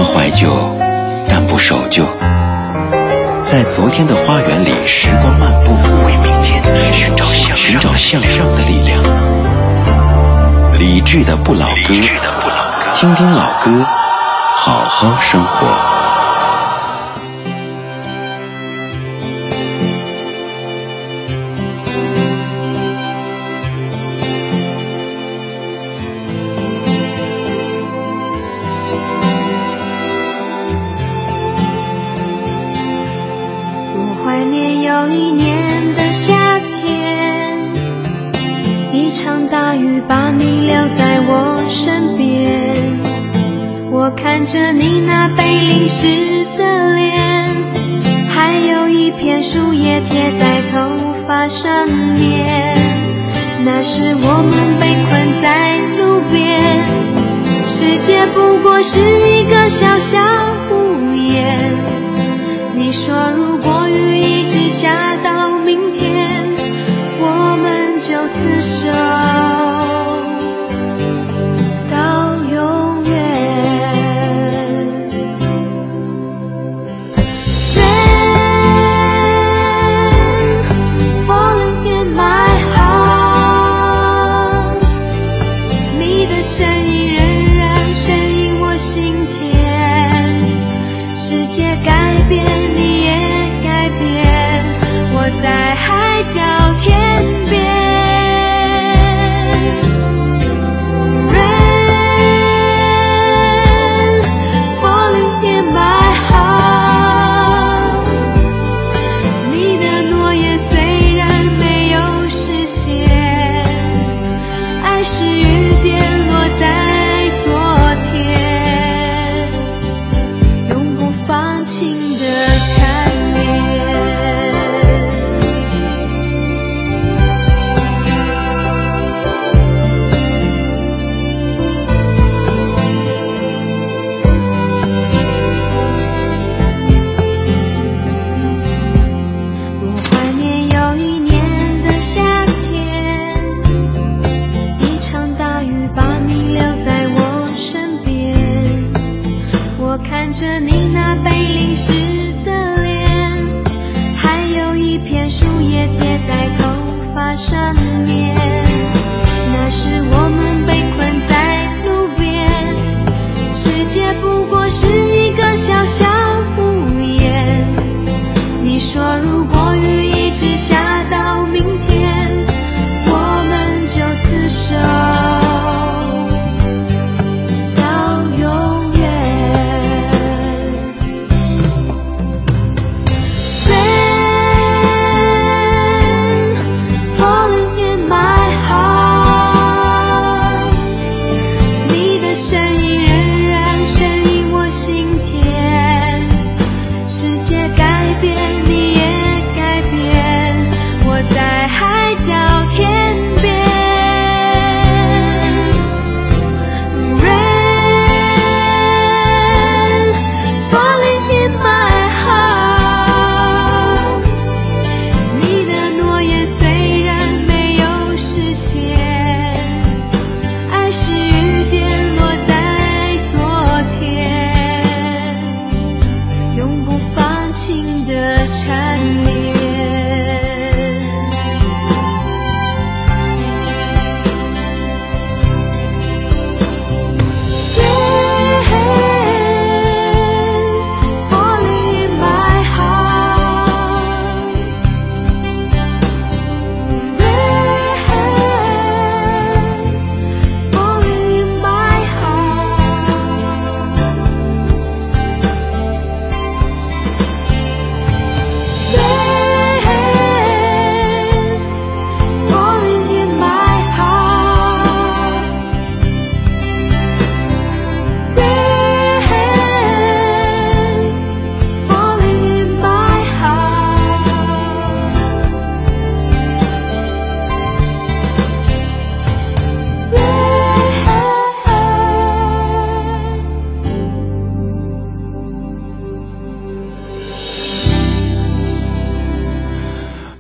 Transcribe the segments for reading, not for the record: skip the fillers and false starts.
怀旧，但不守旧。在昨天的花园里时光漫步，为明天寻找向上的力量。理智的不老歌，听听老歌，好好生活。 看着你那被淋湿的脸，还有一片树叶贴在头发上面，那时我们被困在路边，世界不过是一个小小屋檐。你说如果雨一直下到明天，我们就厮守在海角天边。 Rain falling in my heart， 你的诺言虽然没有实现，爱是雨点落在昨天，永不放晴的缠绵。 看着你那被淋湿的脸，还有一片树叶贴在头发上面，那时我们被困在路边，世界不过是一个小小屋檐。你说如果雨一直下到明天，我们就厮守到永远。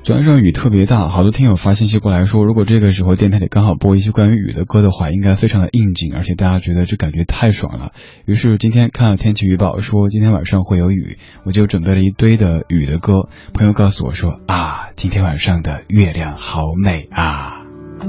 昨晚上雨特别大，好多听友发信息过来说，如果这个时候电台里刚好播一些关于雨的歌的话，应该非常的应景，而且大家觉得这感觉太爽了。于是今天看了天气预报说今天晚上会有雨，我就准备了一堆的雨的歌。朋友告诉我说啊，今天晚上的月亮好美啊。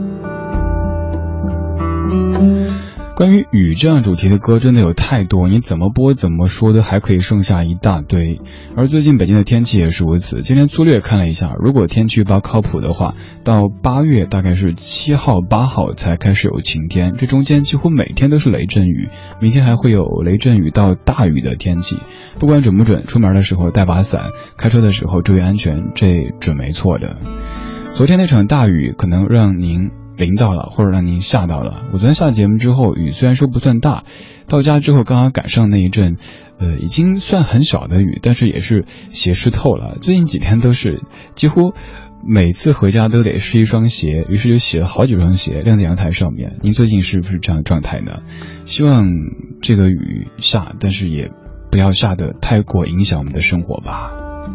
关于雨这样主题的歌真的有太多，你怎么播怎么说都还可以剩下一大堆。而最近北京的天气也是如此，今天粗略看了一下，如果天气预报靠谱的话，到8月大概是7号8号才开始有晴天，这中间几乎每天都是雷阵雨，明天还会有雷阵雨到大雨的天气。不管准不准，出门的时候带把伞，开车的时候注意安全，这准没错的。昨天那场大雨可能让您淋到了，或者让您吓到了。我昨天下节目之后，雨虽然说不算大，到家之后刚刚赶上那一阵已经算很小的雨，但是也是鞋湿透了。最近几天都是几乎每次回家都得试一双鞋，于是就洗了好几双鞋晾在阳台上面。您最近是不是这样的状态呢？希望这个雨下，但是也不要下得太过影响我们的生活吧。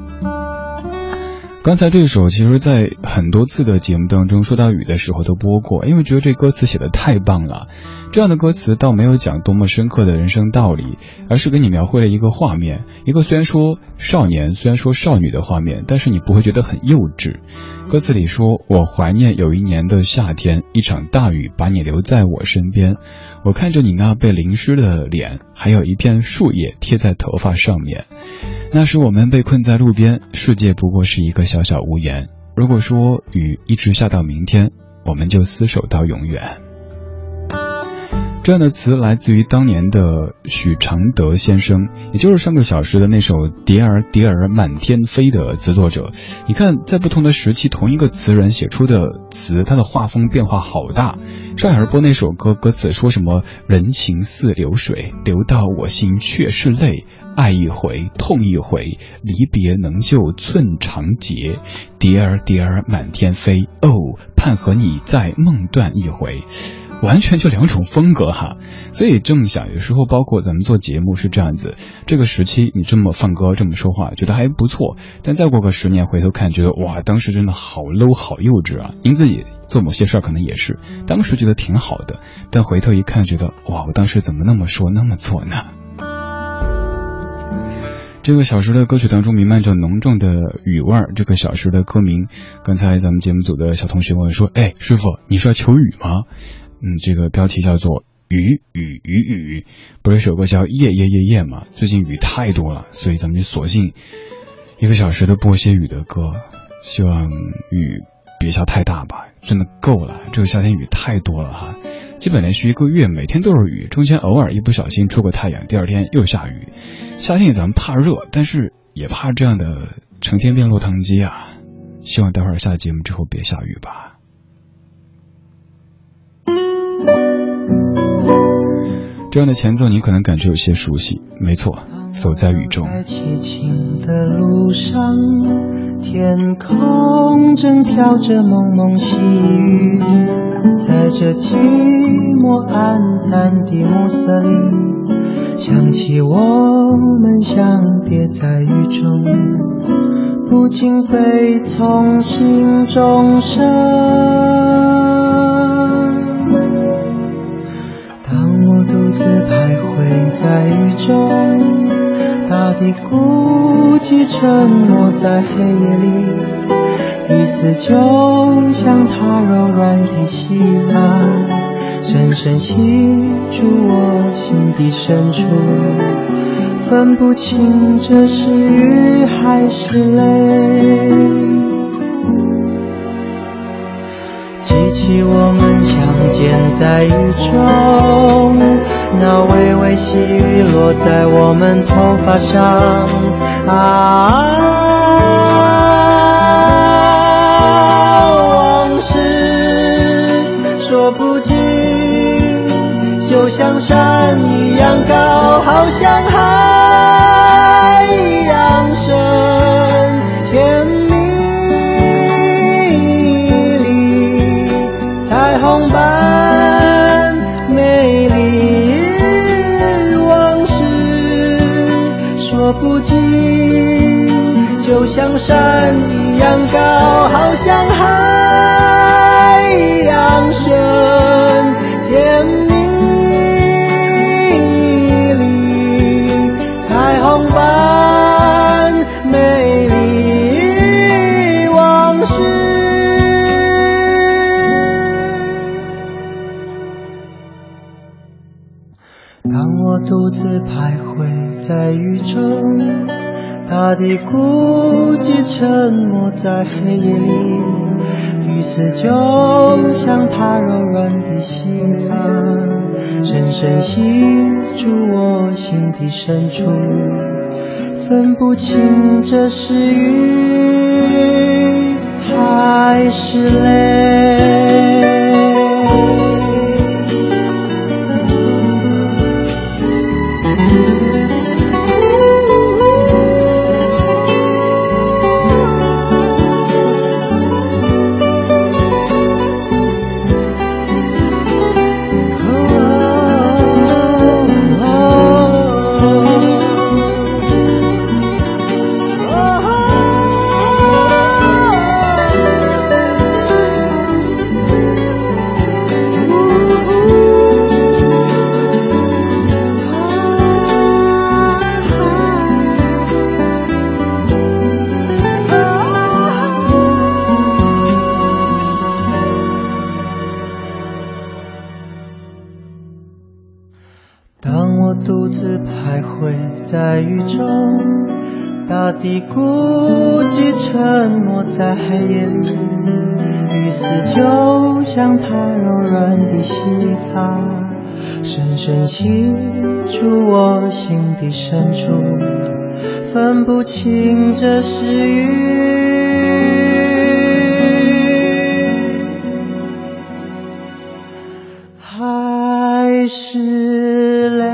刚才这首其实在很多次的节目当中说到雨的时候都播过，因为觉得这歌词写得太棒了。这样的歌词倒没有讲多么深刻的人生道理，而是给你描绘了一个画面，一个虽然说少年虽然说少女的画面，但是你不会觉得很幼稚。歌词里说，我怀念有一年的夏天，一场大雨把你留在我身边，我看着你那被淋湿的脸，还有一片树叶贴在头发上面。那时我们被困在路边，世界不过是一个小小屋檐。如果说雨一直下到明天，我们就厮守到永远。这样的词来自于当年的许常德先生，也就是上个小时的那首《蝶儿蝶儿满天飞》的词作者。你看，在不同的时期，同一个词人写出的词，它的画风变化好大。上小时播那首歌，歌词说什么人情似流水，流到我心却是泪，爱一回痛一回，离别能救寸长劫，蝶儿蝶儿满天飞，哦，盼和你再梦断一回。完全就两种风格哈，所以这么想，有时候包括咱们做节目是这样子，这个时期你这么放歌这么说话觉得还不错，但再过个10年回头看，觉得哇，当时真的好 low 好幼稚啊。您自己做某些事儿可能也是当时觉得挺好的，但回头一看觉得哇，我当时怎么那么说那么做呢。这个小时的歌曲当中弥漫着浓重的雨味儿，这个小时的歌名，刚才咱们节目组的小同学问说，哎，师傅你是要求雨吗？这个标题叫做雨雨雨雨，不是首歌叫夜夜夜夜吗？最近雨太多了，所以咱们就索性1个小时的播些雨的歌，希望雨别下太大吧，真的够了，这个夏天雨太多了哈，基本连续1个月每天都是雨，中间偶尔一不小心出个太阳，第二天又下雨。夏天咱们怕热，但是也怕这样的成天变落汤鸡啊，希望待会儿下节目之后别下雨吧。这样的前奏你可能感觉有些熟悉，没错，走在雨中。 在凄清的路上，天空正飘着蒙蒙细雨，在这寂寞暗淡的暮色里，想起我们相别在雨中，不禁悲从心中生。独自徘徊在雨中，大地孤寂沉默在黑夜里，雨丝就像它柔软的细浪，深深吸住我心底深处，分不清这是雨还是泪。记起我们相见在雨中，那微微细雨落在我们头发上，往事说不尽，就像山一样高，好像海一样深，天彩虹般美丽，往事说不尽，就像山一一样高，好像海洋深，甜蜜里彩虹般美丽往事。当我独自徘徊在雨中，大地孤寂沉默在黑夜里，雨丝就像它柔软的心脏，深深吸住我心底深处，分不清这是雨还是泪。当我独自徘徊在雨中，大地孤寂沉默在黑夜里，雨丝就像它柔软的心脏，深深吸住我心底深处，分不清这是雨还是泪。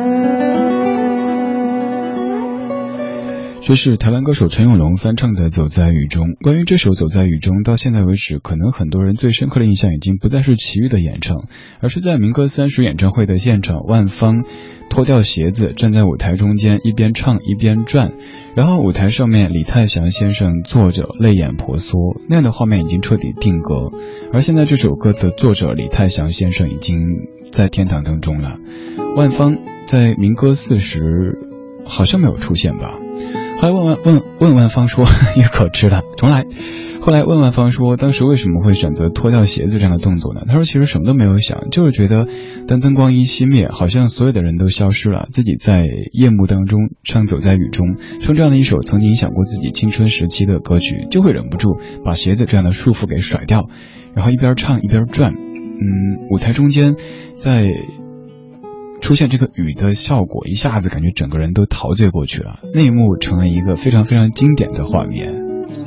这是台湾歌手陈永龙翻唱的《走在雨中》。关于这首《走在雨中》，到现在为止，可能很多人最深刻的印象已经不再是齐豫的演唱，而是在民歌30演唱会的现场，万芳脱掉鞋子站在舞台中间，一边唱一边转，然后舞台上面李泰祥先生坐着泪眼婆娑，那样的画面已经彻底定格。而现在这首歌的作者李泰祥先生已经在天堂当中了。万芳在民歌40好像没有出现吧。后来问万芳说一口吃了重来。后来问万芳说当时为什么会选择脱掉鞋子这样的动作呢？他说其实什么都没有想，就是觉得当灯光一熄灭，好像所有的人都消失了，自己在夜幕当中唱走在雨中，唱这样的一首曾经影响过自己青春时期的歌曲，就会忍不住把鞋子这样的束缚给甩掉，然后一边唱一边转。舞台中间在出现这个雨的效果，一下子感觉整个人都陶醉过去了，那一幕成了一个非常非常经典的画面。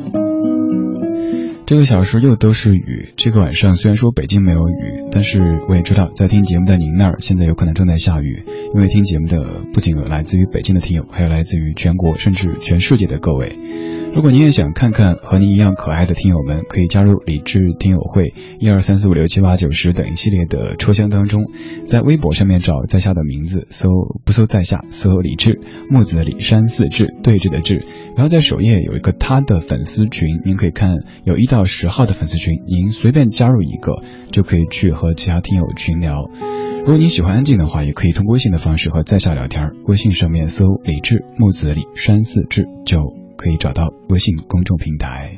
这个小时又都是雨，这个晚上虽然说北京没有雨，但是我也知道在听节目的您那儿现在有可能正在下雨，因为听节目的不仅有来自于北京的听友，还有来自于全国甚至全世界的各位。如果您也想看看和您一样可爱的听友们，可以加入理智听友会12345678910等一系列的抽箱当中，在微博上面找在下的名字，不搜在下，搜理智，木子李山四志，对峙的志，然后在首页有一个他的粉丝群，您可以看有1到10号的粉丝群，您随便加入一个就可以去和其他听友群聊。如果你喜欢安静的话，也可以通过微信的方式和在下聊天，微信上面搜理智木子李山四志就可以找到微信公众平台。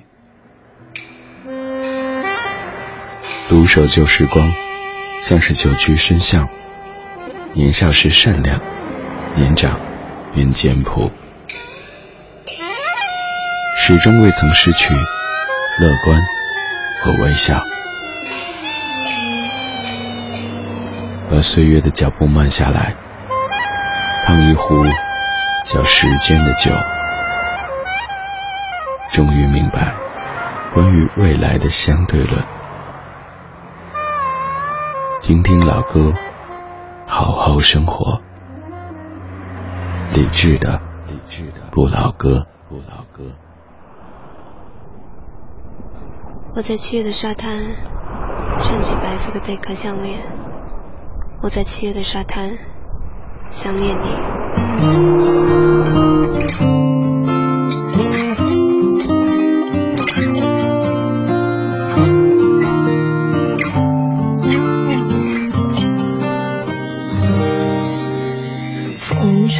独守旧时光，像是久居深巷，年少时善良，年长便简朴，始终未曾失去乐观和微笑。而岁月的脚步慢下来，烫一壶叫时间的酒，终于明白关于未来的相对论。听听老歌，好好生活。理智的不老歌。 我在7月的沙滩穿起白色的贝壳项链，我在7月的沙滩想念你。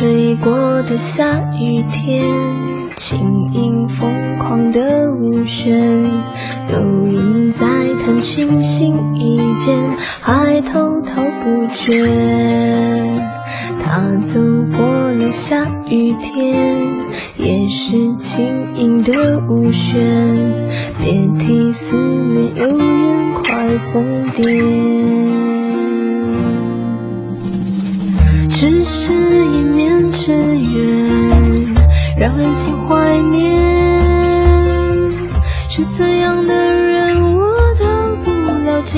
吹过的下雨天，轻盈疯狂的舞旋，有人在弹琴心一间，还滔滔不绝。他走过了下雨天，也是轻盈的舞旋，别提思念有人快疯癫。只是一面之缘，让人心怀念，是怎样的人我都不了解。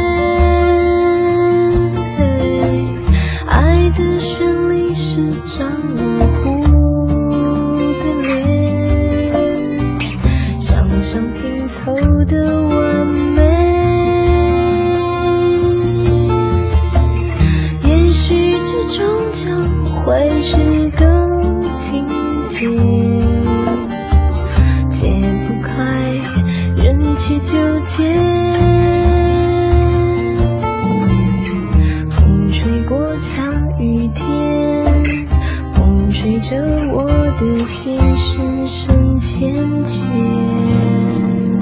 爱的旋律是张模糊的脸，想象拼凑的完美。也许这终将会是个情节，解不开人气纠结。风吹过下雨天，风吹着我的心深深浅浅。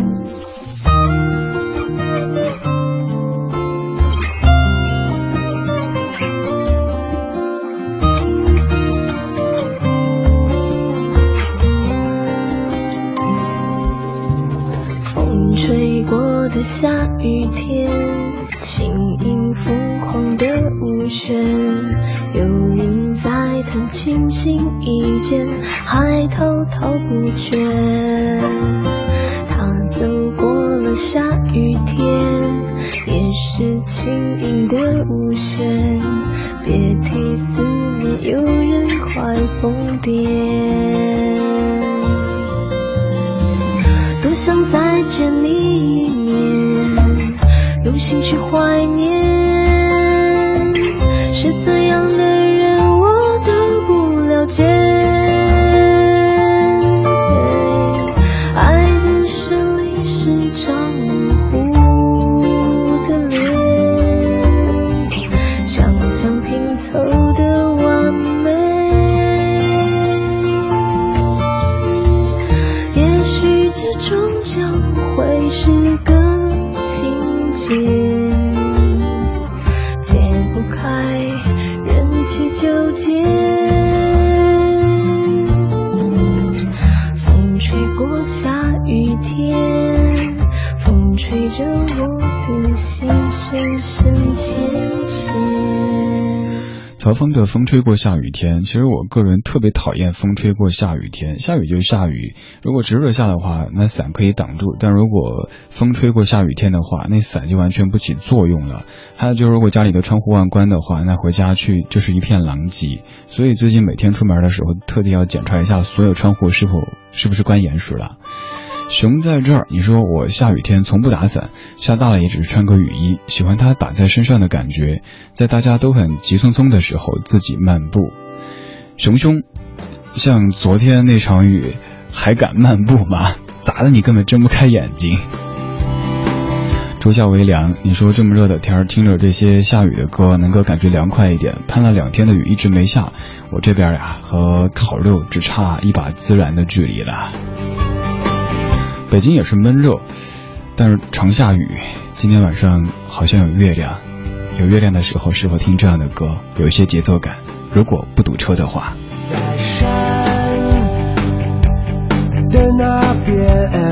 的下雨天，轻盈疯狂的舞旋，有人在弹琴心一间，还滔滔不绝。他走过了下雨天，也是轻盈的舞旋，别提思念有人快疯癫。多想再见你一面，用心去怀念，是怎样的人我都不了解。爱的旋律是张模糊的脸，想象拼凑的完美。也许这终将会是个情节，解不开人气纠结。风吹过下雨天，风吹着我的心深深浅浅。 曹峰的风吹过下雨天，其实我个人特别讨厌风吹过下雨天。下雨就下雨，如果直着下的话，那伞可以挡住，但如果风吹过下雨天的话，那伞就完全不起作用了。还有就是如果家里的窗户忘关的话，那回家去就是一片狼藉。所以最近每天出门的时候，特地要检查一下所有窗户是不是关严实了。熊在这儿，你说我下雨天从不打伞，下大了也只是穿个雨衣，喜欢它打在身上的感觉，在大家都很急匆匆的时候自己漫步。熊熊，像昨天那场雨还敢漫步吗？砸得你根本睁不开眼睛。初夏微凉，你说这么热的天，听着这些下雨的歌能够感觉凉快一点，盼了2天的雨一直没下，我这边呀和烤肉只差一把孜然的距离了。北京也是闷热，但是常下雨。今天晚上好像有月亮，有月亮的时候适合听这样的歌，有一些节奏感，如果不堵车的话。 在山的那边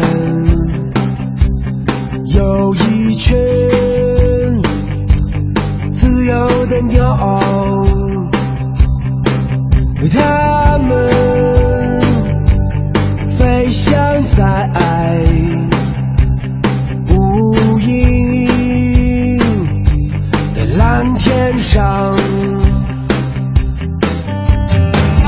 有一群自由的鸟，它们飞翔在无垠的蓝天上，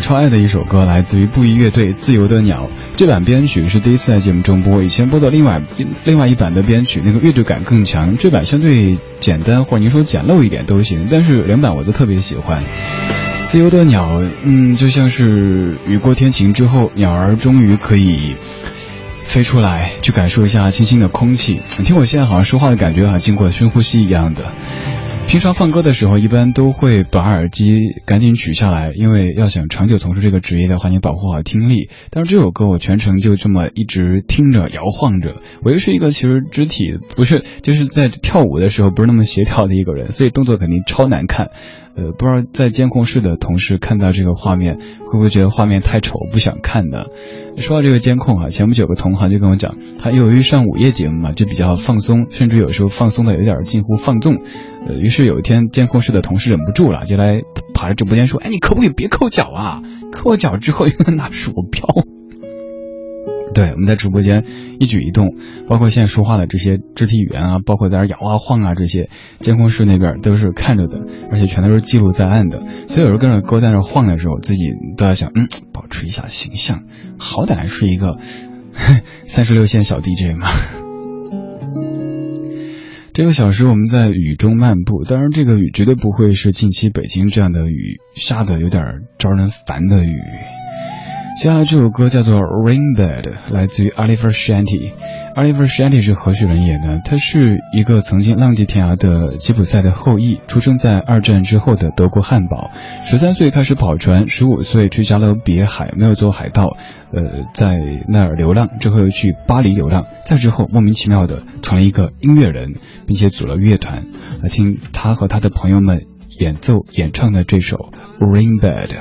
超爱的一首歌，来自于布衣乐队《自由的鸟》。这版编曲是第一次在节目中播，以前播的另外一版的编曲，那个乐队感更强。这版相对简单，或者您说简陋一点都行，但是两版我都特别喜欢。自由的鸟，就像是雨过天晴之后，鸟儿终于可以飞出来，去感受一下清新的空气。你听我现在好像说话的感觉，好像经过深呼吸一样的。平常放歌的时候，一般都会把耳机赶紧取下来，因为要想长久从事这个职业的话，你保护好听力。但是这首歌我全程就这么一直听着摇晃着。我又是一个其实肢体不是就是在跳舞的时候不是那么协调的一个人，所以动作肯定超难看。不知道在监控室的同事看到这个画面会不会觉得画面太丑不想看呢？说到这个监控前不久有个同行就跟我讲，他由于上午夜节目嘛，就比较放松，甚至有时候放松的有点近乎放纵。于是有一天监控室的同事忍不住了，就来跑来直播间说，你可不可以别扣脚啊？扣脚之后又能拿鼠标。对，我们在直播间一举一动，包括现在说话的这些肢体语言啊，包括在那摇啊晃啊，这些监控室那边都是看着的，而且全都是记录在案的。所以有时候跟着歌在那晃的时候，自己都在想，保持一下形象，好歹是一个36线小 DJ 嘛。这个小时我们在雨中漫步，当然这个雨绝对不会是近期北京这样的雨，下的有点招人烦的雨。接下来这首歌叫做 Rainbed， 来自于 Oliver Shanty。Oliver Shanty 是何许人也呢？他是一个曾经浪迹天涯的吉普赛的后裔，出生在二战之后的德国汉堡。13岁开始跑船，15岁去加勒比海，没有做海盗，在那儿流浪，之后又去巴黎流浪，再之后莫名其妙的成了一个音乐人，并且组了乐团。来听他和他的朋友们演唱的这首 Rainbed。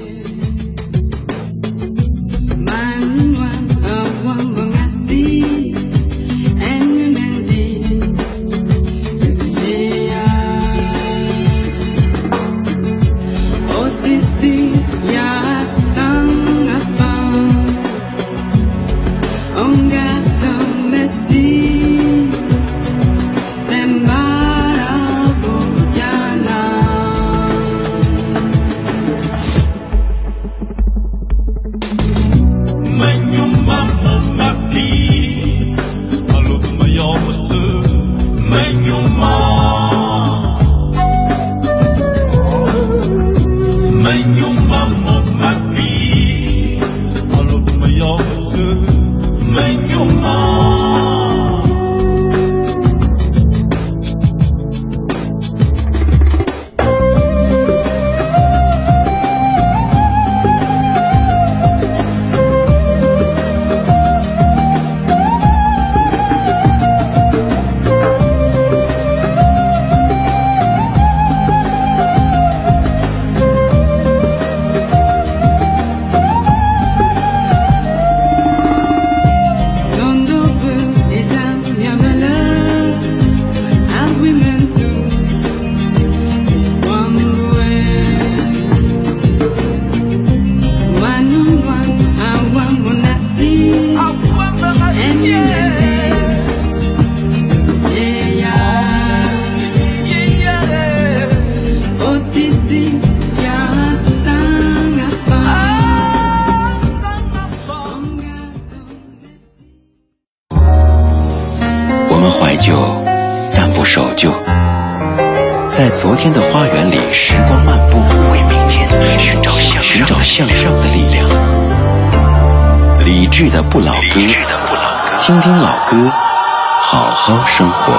在昨天的花园里时光漫步，为明天寻找向上的力量。理智的不老歌，听听老歌，好好生活。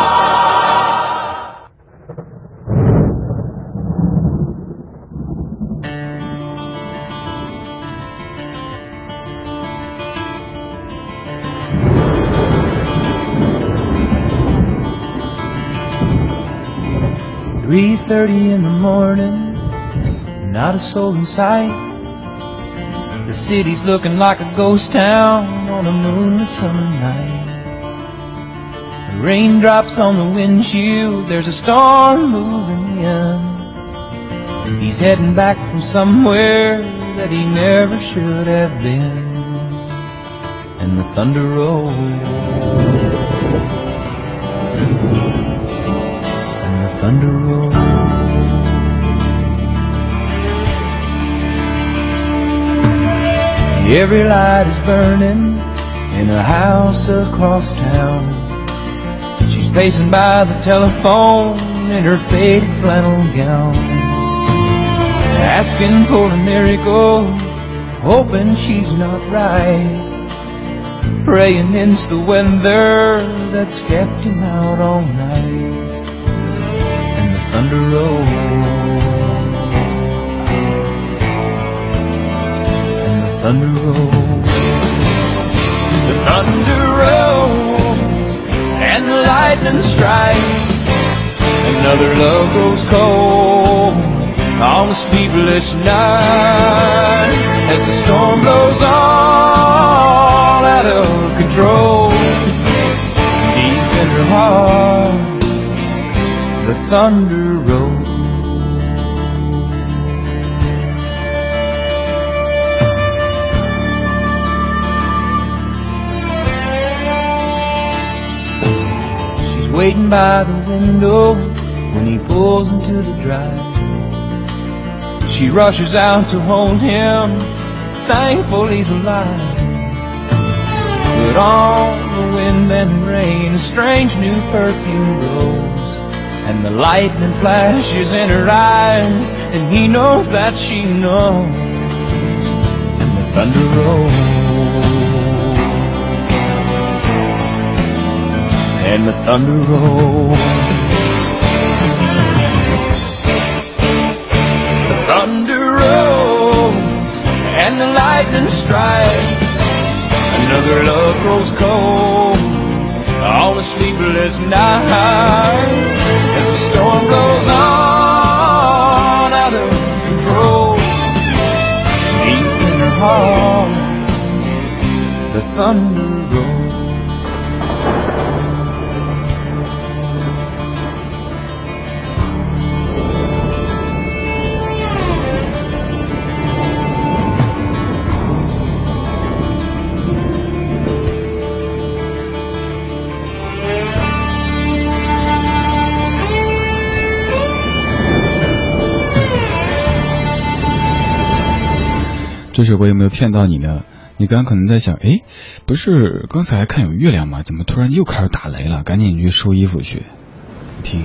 3:30 in the morning, not a soul in sight. The city's looking like a ghost town on a moonlit summer night. The raindrops on the windshield, there's a storm moving in. He's heading back from somewhere that he never should have been. And the thunder rolls, and the thunder rolls. Every light is burning in a house across town. She's pacing by the telephone in her faded flannel gown, asking for a miracle, hoping she's not right, praying it's the weather that's kept him out all night. And the thunder rolls, and the thunder rolls, the thunder rolls, and the lightning strikes. Another love grows cold on a sleepless night, as the storm blows all out of control. Deep in her heart, the thunder rolls. She's waiting by the window when he pulls into the drive. She rushes out to hold him, thankful he's alive. But on the wind and rain, a strange new perfume blows, and the lightning flashes in her eyes, and he knows that she knows. And the thunder rolls, and the thunder rolls. Thunder rolls and the lightning strikes. Another love grows cold on a sleepless night, as the storm blows on out of control. Deep in her heart, the thunder rolls. 这首歌有没有骗到你呢？你刚刚可能在想，诶，不是刚才还看有月亮吗？怎么突然又开始打雷了？赶紧去收衣服去。听，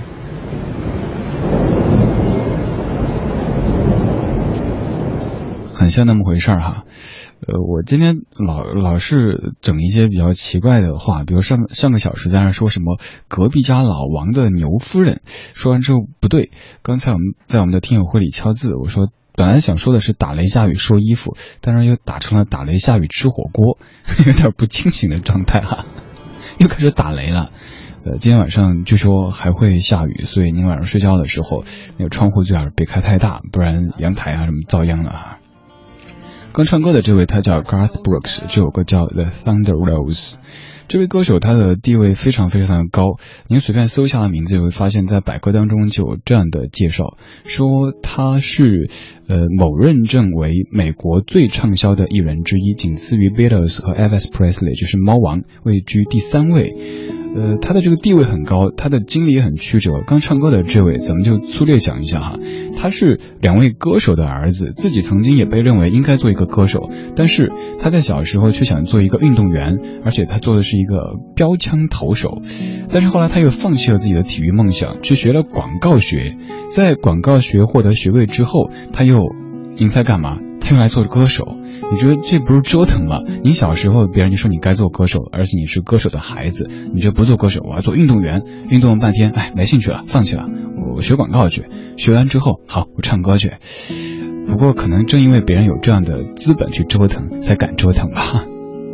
很像那么回事儿哈。我今天老是整一些比较奇怪的话，比如上个小时在那说什么隔壁家老王的牛夫人，说完之后不对，刚才我们在我们的听友会里敲字，我说本来想说的是打雷下雨收衣服，但是又打成了打雷下雨吃火锅，有点不清醒的状态哈，又开始打雷了。今天晚上据说还会下雨，所以您晚上睡觉的时候那个窗户最好别开太大，不然阳台啊什么遭殃了哈。刚唱歌的这位他叫 Garth Brooks， 这首歌叫 The Thunder Rolls。 这位歌手他的地位非常非常的高，您随便搜一下的名字就会发现在百科当中就有这样的介绍，说他是某认证为美国最畅销的艺人之一，仅次于 Beatles 和 Elvis Presley， 就是猫王，位居第3位。他的这个地位很高，他的经历也很曲折。刚唱歌的这位咱们就粗略讲一下哈，他是2位歌手的儿子，自己曾经也被认为应该做一个歌手，但是他在小时候却想做一个运动员，而且他做的是一个标枪投手，但是后来他又放弃了自己的体育梦想，去学了广告学，在广告学获得学位之后，他又您猜干嘛？他又来做歌手。你觉得这不是折腾吗？你小时候别人就说你该做歌手，而且你是歌手的孩子，你就不做歌手，我要做运动员，运动了半天，没兴趣了，放弃了，我学广告去，学完之后好，我唱歌去。不过可能正因为别人有这样的资本去折腾，才敢折腾吧。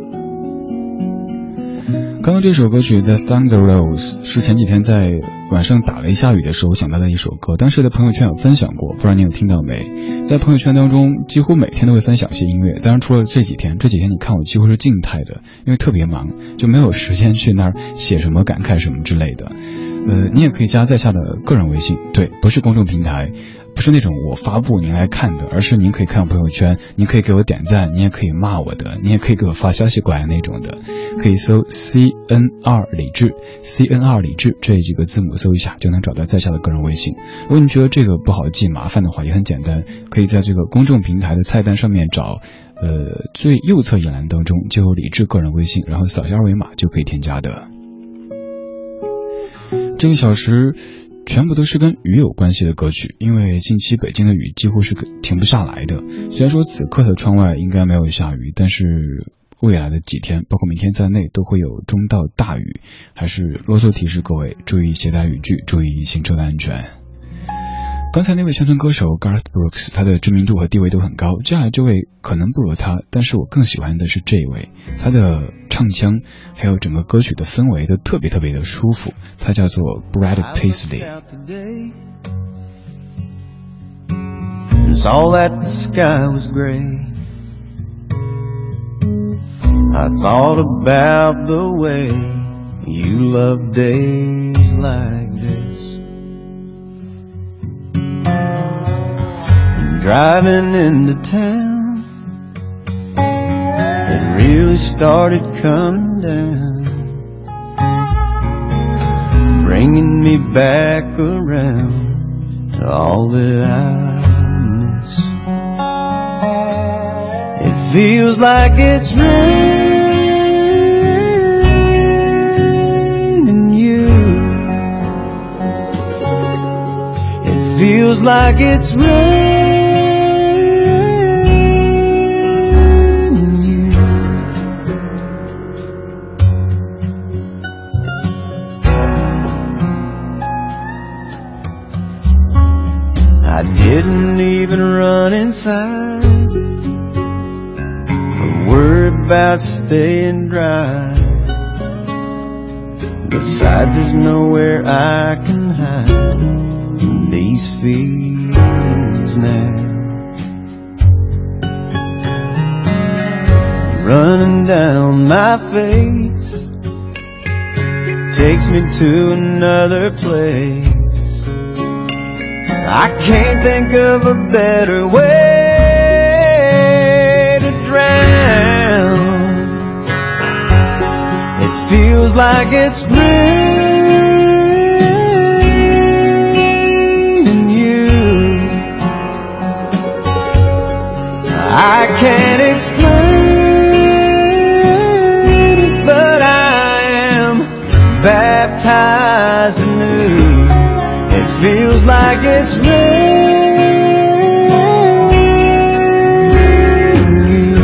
刚刚这首歌曲在 Thunder Rolls 是前几天在晚上打雷下雨的时候想到的一首歌，当时的朋友圈有分享过，不知道你有听到没？在朋友圈当中几乎每天都会分享些音乐，当然除了这几天你看我几乎是静态的，因为特别忙，就没有时间去那儿写什么感慨什么之类的。 你也可以加在下的个人微信，对，不是公众平台，不是那种我发布您来看的，而是您可以看我朋友圈，您可以给我点赞，你也可以骂我的，你也可以给我发消息过来那种的，可以搜 CNR 李志 CNR 李志这几个字母搜一下就能找到在下的个人微信。如果你觉得这个不好记麻烦的话，也很简单，可以在这个公众平台的菜单上面找最右侧一栏当中就有李志个人微信，然后扫下二维码就可以添加的。这个小时全部都是跟雨有关系的歌曲，因为近期北京的雨几乎是停不下来的。虽然说此刻的窗外应该没有下雨，但是未来的几天包括明天在内都会有中到大雨，还是啰嗦提示各位注意携带雨具，注意行车的安全。刚才那位乡村歌手 Garth Brooks 他的知名度和地位都很高，接下来这位可能不如他，但是我更喜欢的是这位，他的唱腔还有整个歌曲的氛围都特别特别的舒服，他叫做 Brad Paisley。 Saw that the sky was gray. I thought about the way you love days like this. Driving into town, it really started coming down, bringing me back around to all that I miss. It feels like it's raining you. It feels like it's raining. I didn't even run inside, or worry about staying dry. Besides, there's nowhere I can hide in these feelings now. Running down my face takes me to another place. I can't think of a better way to drown. It feels like it's raining you. I can't explain it, but I am baptized anew. It feels like it's raining you.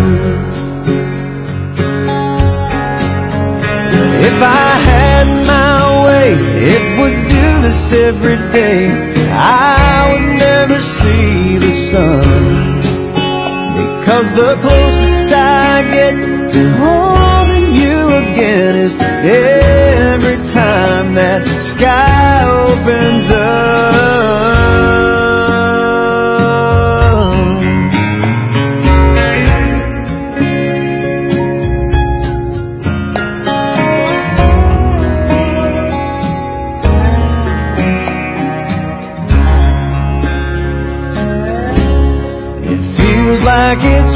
If I had my way, it would do this every day. I would never see the sun, because the closest I get to holding you again is every time that sky opens up. It feels like it's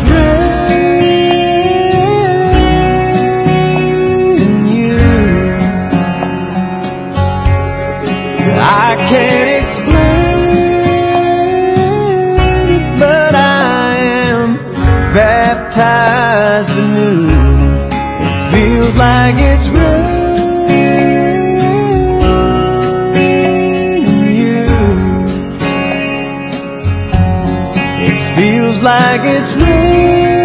raining you. I can't explain it, but I am baptized anew. It feels like it's raining you. It feels like it's raining you.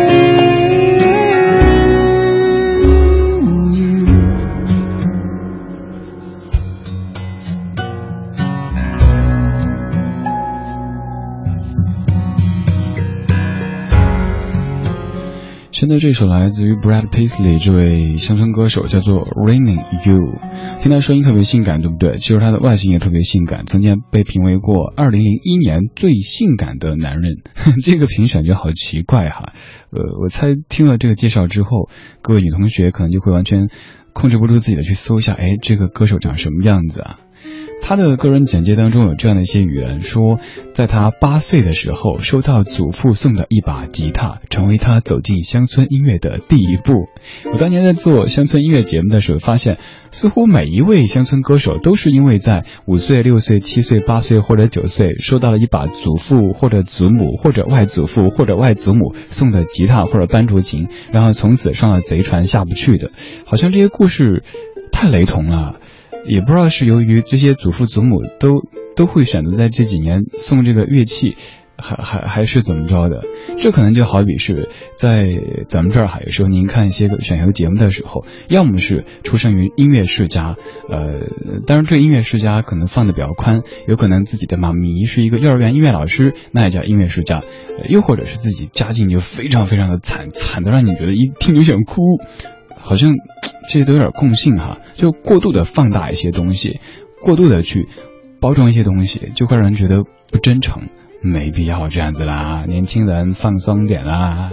现在这首来自于 Brad Paisley 这位乡村歌手叫做 Raining You， 听他声音特别性感，对不对？其实他的外形也特别性感，曾经被评为过2001年最性感的男人。这个评选就好奇怪哈。我猜听了这个介绍之后，各位女同学可能就会完全控制不住自己的去搜一下，哎，这个歌手长什么样子啊？ 他的个人简介当中有这样的一些语言，说在他8岁的时候收到祖父送的一把吉他，成为他走进乡村音乐的第一步。我当年在做乡村音乐节目的时候发现，似乎每一位乡村歌手都是因为在5岁、6岁、7岁、8岁或者9岁收到了一把祖父或者祖母或者外祖父或者外祖母送的吉他或者班竹琴，然后从此上了贼船下不去的。好像这些故事太雷同了，也不知道是由于这些祖父祖母都会选择在这几年送这个乐器，还是怎么着的。这可能就好比是在咱们这儿哈，有时候您看一些个选秀节目的时候，要么是出生于音乐世家，当然这个音乐世家可能放的比较宽，有可能自己的妈咪是一个幼儿园音乐老师，那也叫音乐世家，又或者是自己家境就非常非常的惨的让你觉得一听就想哭，好像这些都有点共性哈，就过度的放大一些东西，过度的去包装一些东西，就会让人觉得不真诚。没必要这样子啦，年轻人放松点啦。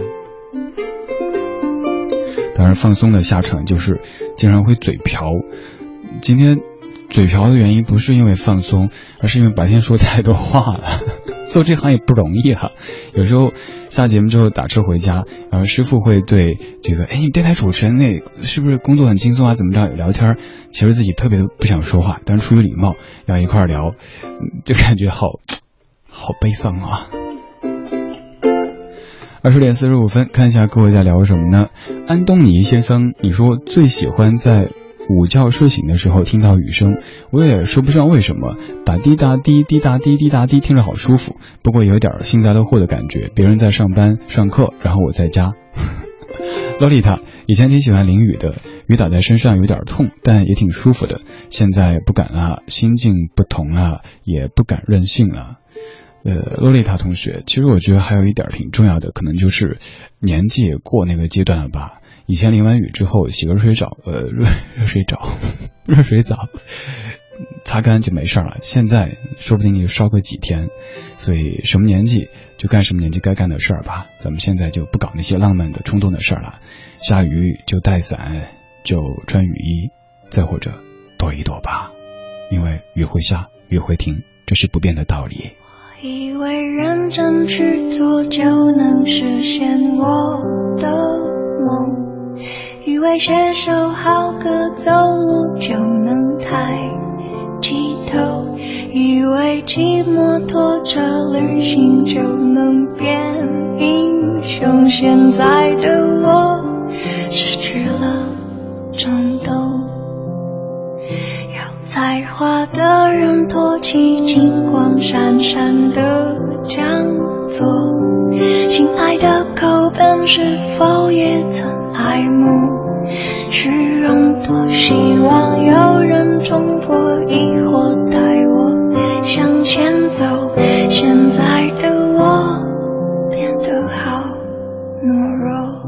当然放松的下场就是经常会嘴瓢。今天嘴瓢的原因不是因为放松，而是因为白天说太多话了。做这行也不容易哈，有时候下节目之后打车回家，然后师傅会对这个你电台主持人那是不是工作很轻松啊怎么着聊天，其实自己特别的不想说话，但是出于礼貌要一块聊，就感觉好悲伤啊。20点45分，看一下各位在聊什么呢？安东尼先生，你说最喜欢在午觉睡醒的时候听到雨声，我也说不上为什么，打滴答滴滴答滴滴答滴，听着好舒服，不过有点幸灾乐祸的感觉，别人在上班上课，然后我在家。洛丽塔以前挺喜欢淋雨的，雨打在身上有点痛，但也挺舒服的，现在不敢了，心境不同了，也不敢任性了。洛丽塔同学，其实我觉得还有一点挺重要的，可能就是年纪也过那个阶段了吧。以前淋完雨之后洗个热水澡擦干就没事了，现在说不定你就烧个几天，所以什么年纪就干什么年纪该干的事儿吧。咱们现在就不搞那些浪漫的冲动的事儿了，下雨就带伞，就穿雨衣，再或者躲一躲吧，因为雨会下雨会停，这是不变的道理。 我以为认真去做就能实现我的梦，以为写首好歌走路就能抬起头，以为寂寞拖着旅行就能变英雄，现在的我失去了战斗，有才华的人托起金光闪闪的讲座，心爱的口本是否也曾爱慕虚荣，多希望有人冲破疑惑带我向前走，现在的我变得好懦弱，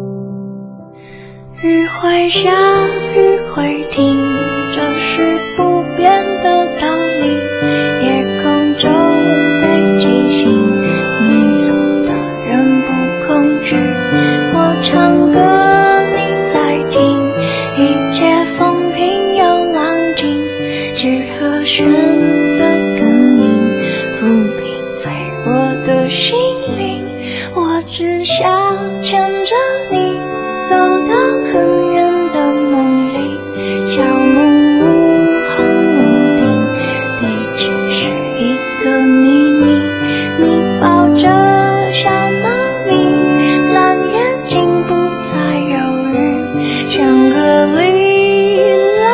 雨会下雨会停，这是不变的道理，夜空中北极星迷路的人不恐惧，我唱歌你在听，一切风平又浪静，只和弦的根音抚平脆弱的心灵，我只想牵着你走到很远的梦里，小梦无红无顶，对只是一个秘密，你抱着小猫咪，蓝眼睛不再犹豫，像个莉拉，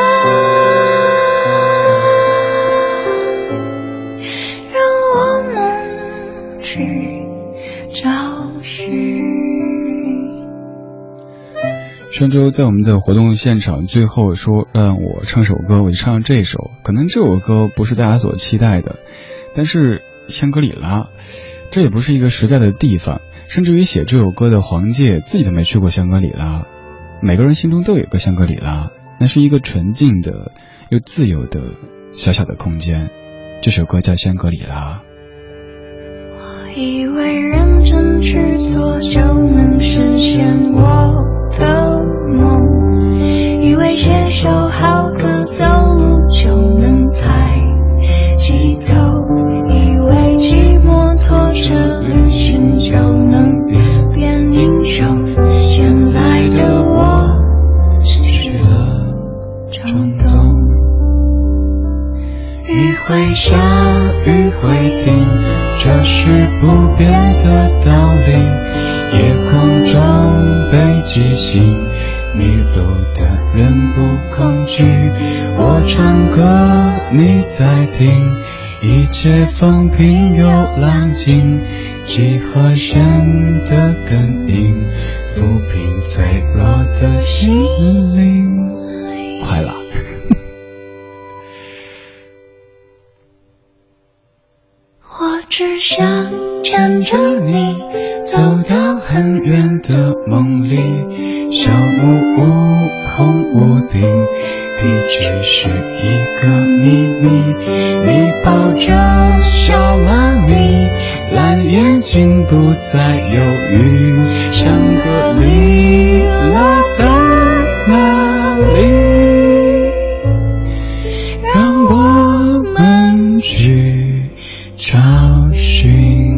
让我们去找寻。 上周在我们的活动现场最后说让我唱首歌，我就唱这首，可能这首歌不是大家所期待的，但是香格里拉这也不是一个实在的地方，甚至于写这首歌的黄玠自己都没去过香格里拉。每个人心中都有一个香格里拉，那是一个纯净的又自由的小小的空间，这首歌叫香格里拉。 我以为认真去做就能实现我的梦，以为写首好歌走路就能抬道理，夜空中北极星，迷路的人不恐惧，我唱歌你在听，一切风平又浪静，几何声的根音，抚平脆弱的心灵。快了我只想牵着你走到很远的梦里，小木屋红屋顶，地址是一个秘密，你抱着小妈咪，蓝眼睛不再犹豫，想个你落在哪里，让我们去找寻。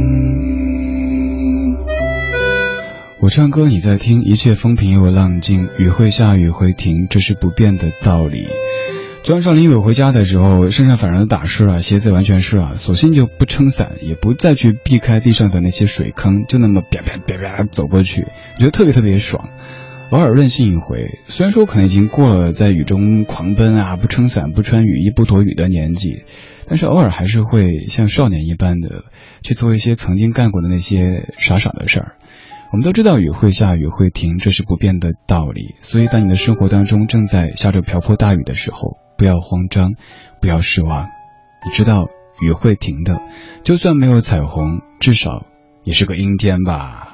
我唱歌你在听，一切风平又浪静，雨会下雨会停，这是不变的道理。昨晚上林伟回家的时候，身上反而打湿了，鞋子完全湿了，索性就不撑伞，也不再去避开地上的那些水坑，就那么啪啪啪啪走过去，觉得特别特别爽。偶尔任性一回，虽然说可能已经过了在雨中狂奔啊，不撑伞不穿雨衣不躲雨的年纪，但是偶尔还是会像少年一般的去做一些曾经干过的那些傻傻的事儿。我们都知道雨会下雨会停，这是不变的道理，所以当你的生活当中正在下着瓢泼大雨的时候，不要慌张，不要失望，你知道雨会停的，就算没有彩虹，至少也是个阴天吧。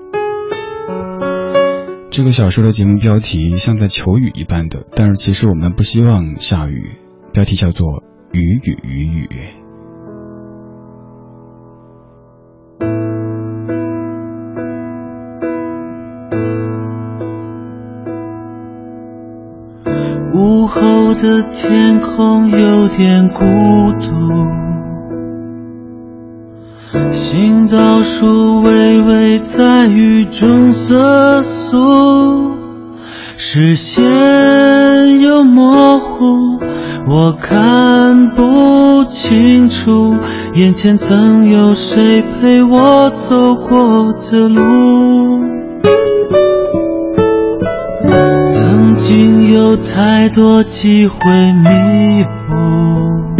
这个小说的节目标题像在求雨一般的，但是其实我们不希望下雨，标题叫做雨雨雨雨。 午后的天空有点孤独，行道树微微在雨中瑟缩，视线又模糊，我看不清楚眼前曾有谁陪我走过的路，曾经有太多机会弥补，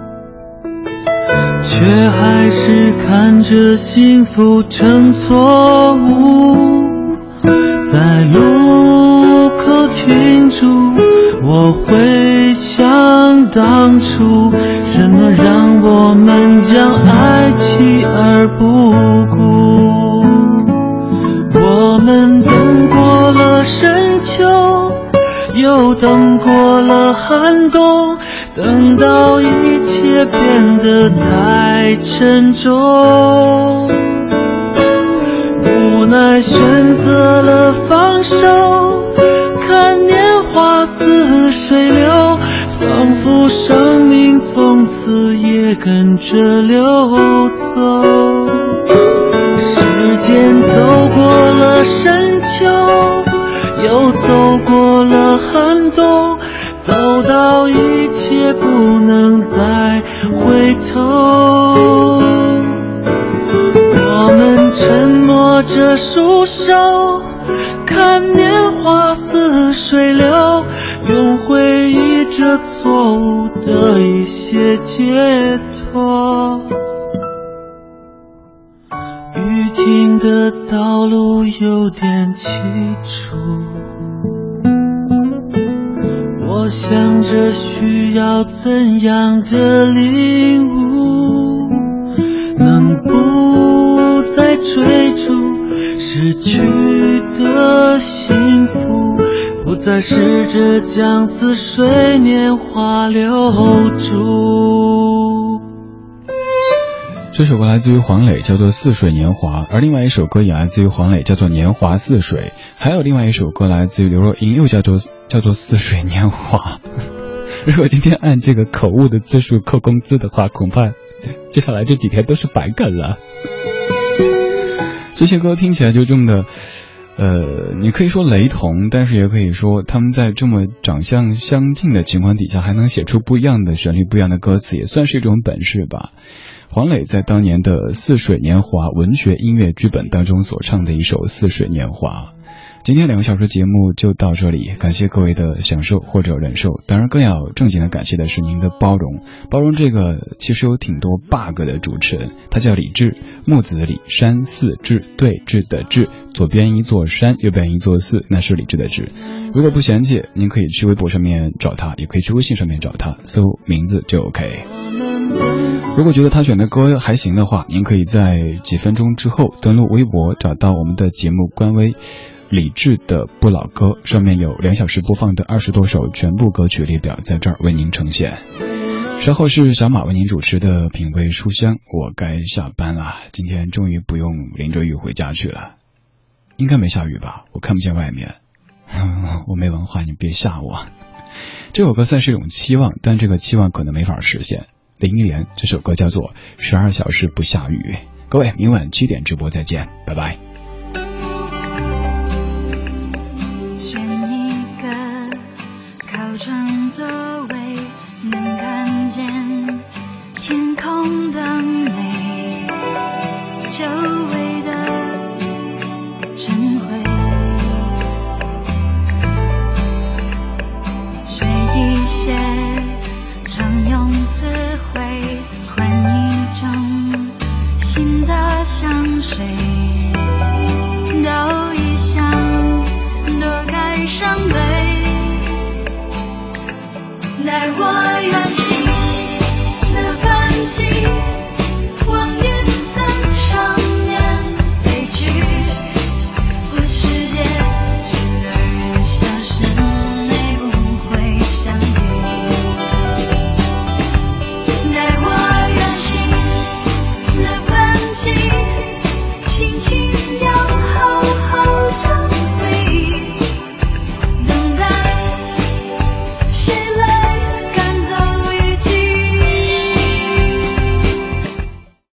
却还是看着幸福成错误，在路口停住，我会想当初，什么让我们将爱弃而不顾，我们等过了深秋，又等过了寒冬，等到一切变得太沉重，无奈选择了放手，看年华似水流，仿佛生命从此也跟着流走，时间走过了深秋，又走过了寒冬，走到一切不能再回头，我们沉默着束手，看年华似水流，用回忆这错误的一些解脱，雨停的道路有点凄楚，我想着需要怎样的领悟，能不再追逐失去的幸福，不再试着将似水年华留住。 这首歌来自于黄磊，叫做《似水年华》，而另外一首歌也来自于黄磊，叫做《年华似水》，还有另外一首歌来自于刘若英，又叫做《似水年华》。如果今天按这个口误的字数扣工资的话，恐怕接下来这几天都是白干了。这些歌听起来就这么的你可以说雷同，但是也可以说他们在这么长相相近的情况底下还能写出不一样的旋律不一样的歌词，也算是一种本事吧。 黄磊在当年的《似水年华》文学音乐剧本当中所唱的一首《似水年华》。今天2个小时节目就到这里，感谢各位的享受或者忍受，当然更要正经的感谢的是您的包容。包容这个其实有挺多 bug 的主持人，他叫李志，木子李，山寺志，对峙的志，左边一座山，右边一座寺，那是李志的志。如果不嫌弃，您可以去微博上面找他，也可以去微信上面找他，搜名字就 OK。如果觉得他选的歌还行的话，您可以在几分钟之后登录微博，找到我们的节目官微李志的不老歌，上面有2小时播放的20多首全部歌曲列表在这儿为您呈现。稍后是小马为您主持的品味书香，我该下班了，今天终于不用淋着雨回家去了。应该没下雨吧，我看不见外面。我没文化，你别吓我。这首歌算是一种期望，但这个期望可能没法实现。林忆莲这首歌叫做12小时不下雨。各位，明晚7点直播再见，拜拜。 选一个靠窗座位，能看见天空的美，周围